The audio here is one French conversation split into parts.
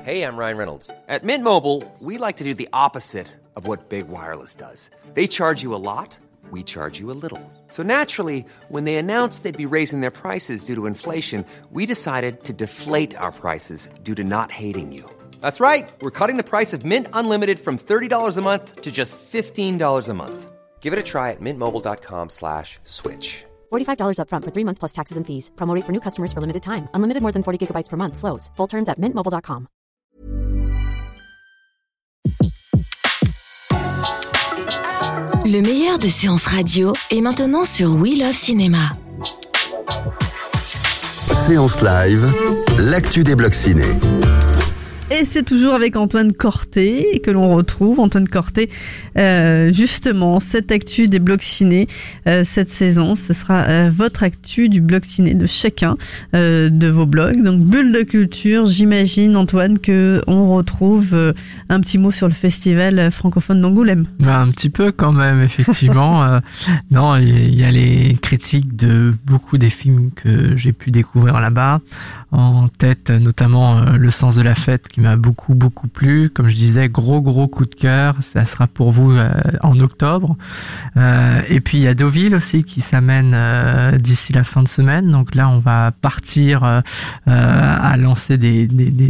Hey, I'm Ryan Reynolds. At Mint Mobile, we like to do the opposite of what Big Wireless does. They charge you a lot, we charge you a little. So naturally, when they announced they'd be raising their prices due to inflation, we decided to deflate our prices due to not hating you. That's right. We're cutting the price of Mint Unlimited from $30 a month to just $15 a month. Give it a try at mintmobile.com/switch. $45 up front for 3 months plus taxes and fees. Promo rate for new customers for limited time. Unlimited more than 40 gigabytes per month. Slows full terms at mintmobile.com. Le meilleur de séances radio est maintenant sur We Love Cinéma. Séance live, l'actu des blogs ciné. Et c'est toujours avec Antoine Corté que l'on retrouve. Antoine Corté, justement, cette actu des blogs ciné, cette saison, ce sera votre actu du blog ciné de chacun de vos blogs. Donc, Bulle de Culture, j'imagine, Antoine, qu'on retrouve un petit mot sur le festival francophone d'Angoulême. Un petit peu quand même, effectivement. Non, il y a les critiques de beaucoup des films que j'ai pu découvrir là-bas. En tête, notamment Le sens de la fête, qui m'a beaucoup plu. Comme je disais, gros coup de cœur. Ça sera pour vous en octobre. Et puis il y a Deauville aussi qui s'amène d'ici la fin de semaine. Donc là, on va partir à lancer des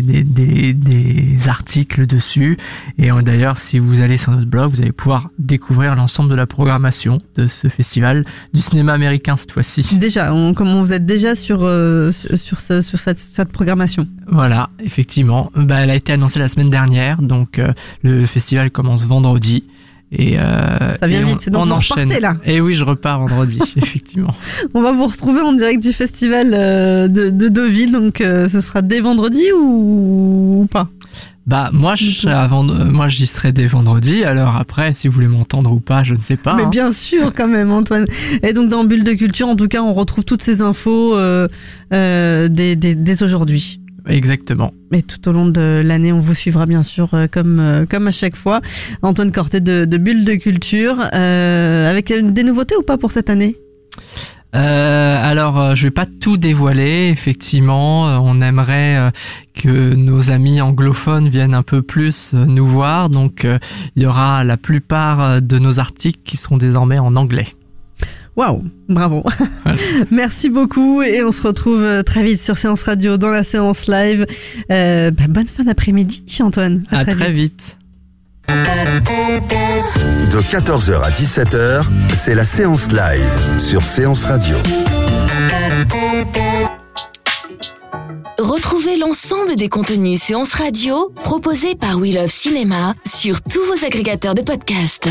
articles dessus. Et d'ailleurs, si vous allez sur notre blog, vous allez pouvoir découvrir l'ensemble de la programmation de ce festival du cinéma américain cette fois-ci. Déjà, comment vous êtes déjà sur cette programmation? Voilà, effectivement. Elle a été annoncée la semaine dernière, donc le festival commence vendredi. Et ça vient vite, donc on enchaîne. Repartez, là. Et oui, je repars vendredi, effectivement. On va vous retrouver en direct du festival de Deauville, donc ce sera dès vendredi ou pas? Moi j'y serai dès vendredi, alors après si vous voulez m'entendre ou pas, je ne sais pas. Mais bien sûr quand même, Antoine. Et donc dans Bulle de Culture, en tout cas, on retrouve toutes ces infos dès aujourd'hui. Exactement. Et tout au long de l'année, on vous suivra bien sûr comme à chaque fois. Antoine Corté de Bulle de Culture, avec des nouveautés ou pas pour cette année? Alors, je vais pas tout dévoiler. Effectivement, on aimerait que nos amis anglophones viennent un peu plus nous voir. Donc, il y aura la plupart de nos articles qui seront désormais en anglais. Waouh, bravo. Voilà. Merci beaucoup et on se retrouve très vite sur Séance Radio dans la séance live. Bonne fin d'après-midi, Antoine. À très vite. De 14h à 17h, c'est la séance live sur Séance Radio. Retrouvez l'ensemble des contenus séances radio proposés par We Love Cinéma sur tous vos agrégateurs de podcasts.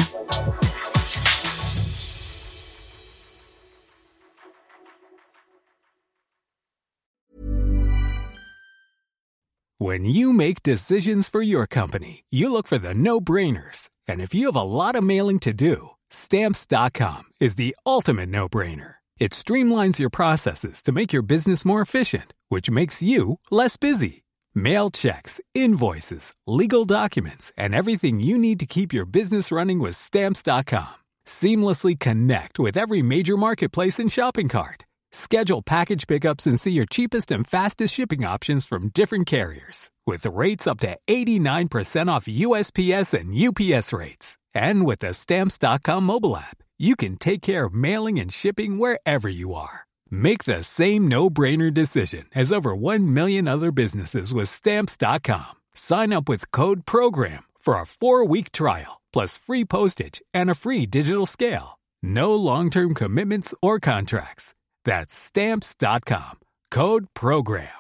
When you make decisions for your company, you look for the no-brainers. And if you have a lot of mailing to do, Stamps.com is the ultimate no-brainer. It streamlines your processes to make your business more efficient, which makes you less busy. Mail checks, invoices, legal documents, and everything you need to keep your business running with Stamps.com. Seamlessly connect with every major marketplace and shopping cart. Schedule package pickups and see your cheapest and fastest shipping options from different carriers. With rates up to 89% off USPS and UPS rates. And with the Stamps.com mobile app, you can take care of mailing and shipping wherever you are. Make the same no-brainer decision as over 1 million other businesses with Stamps.com. Sign up with code PROGRAM for a 4-week trial, plus free postage and a free digital scale. No long-term commitments or contracts. That's Stamps.com. Code PROGRAM.